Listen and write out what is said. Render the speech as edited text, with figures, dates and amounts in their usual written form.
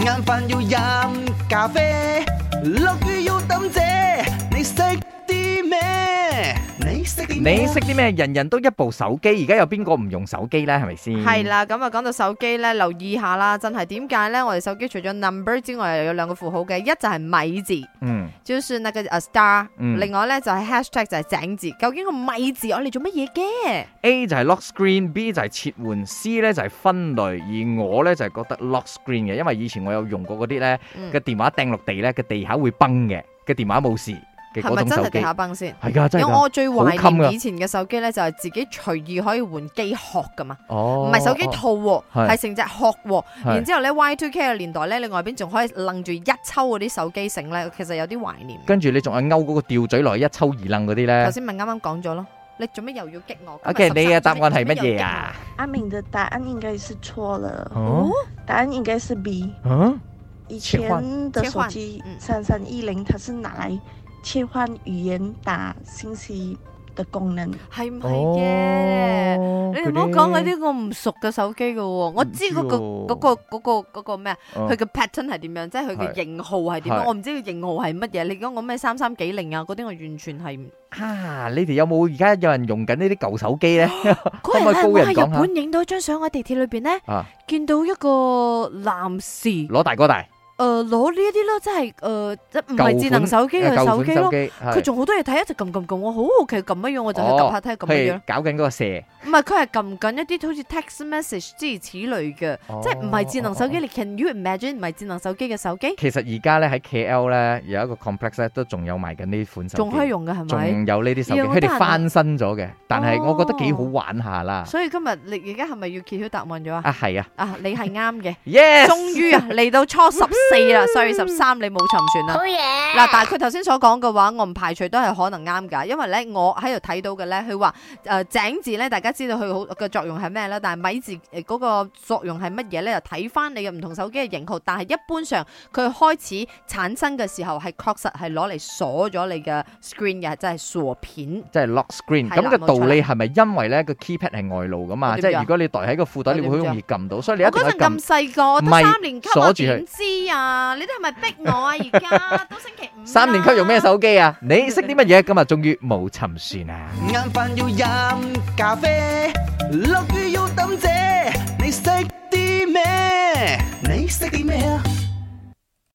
晏飯要飲咖啡，落雨要抌遮，你識啲咩？你識啲咩？ 你識啲咩？人人都一部手機，而家有邊個唔用手機呢？係咪先？ 係啦，咁啊講到手機咧，留意下啦，真係點解咧？我哋手機除咗 number 之外，又有兩個符號嘅，一就係米字，就是那個 star，另外咧就係 hashtag 就係井字。究竟個米字我嚟做乜嘢嘅 ？A 就係 lock screen，B 就係切換，C 咧就係分類，而我咧就係覺得 lock screen 嘅，因為以前我有用過嗰啲咧嘅電話掟落地咧嘅地下會崩嘅電話冇事。 係咪真係地下崩先？ 係㗎，真係。 因為我最懷念以前嘅手機咧，就係自己隨意可以換機殼噶嘛。唔係手機套喎，係成隻殼喎。然之後咧 Y2K 嘅年代咧，你外邊仲可以掕住一抽嗰啲手機繩咧，其實有啲懷念。 跟住你仲係勾嗰個吊嘴落去一抽二掕嗰啲咧。 頭先咪啱啱講咗咯，你做咩又要激我 ？OK， 你嘅答案係乜嘢啊？ 阿明的答案應該是錯了。答案應該是 B。以前的手機3310，它是拿來切換語言打信息的功能， 係唔係嘅？你唔好講嗰啲我唔熟嘅手機嘅喎，我知嗰個咩啊？佢嘅 pattern 係點樣？即係佢嘅型號係點樣？我唔知佢型號係乜嘢。你講我咩3390啊？嗰啲我完全係你哋有冇而家有人用緊呢啲舊手機咧？可唔可以高人講下？ 我喺日本影到一張相喺地鐵裏邊咧，見到一個男士攞大哥大。 攞呢一啲咯，即係唔係智能手機嘅手機咯，佢仲好多嘢睇，一直撳，我好好奇撳乜樣，我就去撳下睇下撳乜樣。 搞緊嗰個蛇， 唔係佢係撳緊一啲好似 text message 諸如此類嘅，即係唔係智能手機。你 can you imagine 唔係智能手機嘅手機？ 其實而家咧喺 KL 咧有一個 complex 咧都仲有賣緊呢款手機， 仲可以用嘅係咪？ 仲有呢啲手機，佢哋翻新咗嘅，但係我覺得幾好玩下啦。 所以今日你而家係咪要揭曉答案咗啊？ 係啊， 你係啱嘅， Yes， 終於嚟到初14啦，4月13你冇沉船啦。嗱，但係佢頭先所講嘅話，我唔排除都係可能啱㗎，因為咧我喺度睇到嘅咧，佢話井字咧，大家知道佢好嘅作用係咩啦，但係米字嗰個作用係乜嘢咧？就睇翻你嘅唔同手機嘅型號，但係一般上佢開始產生嘅時候係確實係攞嚟鎖咗你嘅 screen 嘅，即係鎖片， 即係 lock screen。咁嘅道理係咪因為咧個 keypad 係外露㗎嘛？即係如果你袋喺個褲袋，你會好容易撳到，所以你一定要撳。 嗰陣咁細個，我得3年級，我點知啊？你哋係咪逼我啊？而家都星期5。 3年級用咩手機啊？你識啲乜嘢？今日終於冇沉船啊！ 晏飯要飲咖啡，落雨要抌遮，你識啲咩？你識啲咩啊？